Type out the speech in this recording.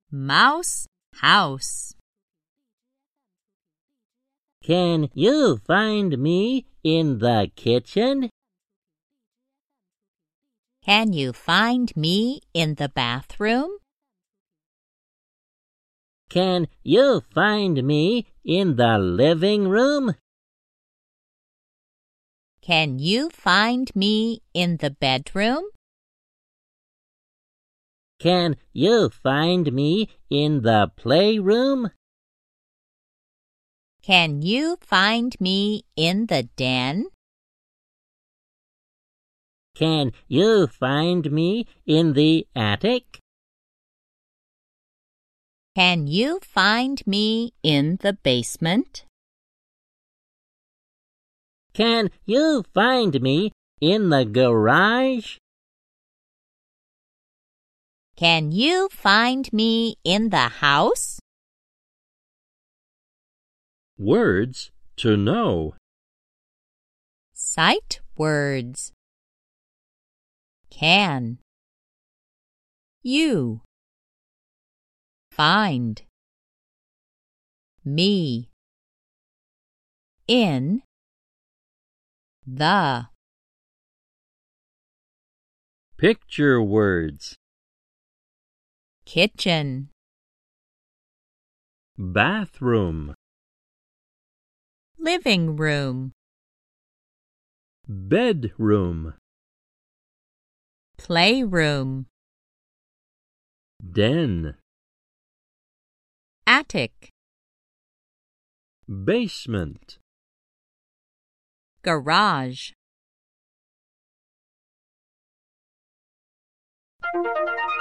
Mouse house. Can you find me in the kitchen? Can you find me in the bathroom? Can you find me in the living room? Can you find me in the bedroom? Can you find me in the playroom? Can you find me in the den? Can you find me in the attic? Can you find me in the basement? Can you find me in the garage? Can you find me in the house? Words to know. Sight words. Can. You. Find. Me. In. The. Picture words. Kitchen. Bathroom. Living room. Bedroom. Playroom. Den. Attic. Basement. Garage.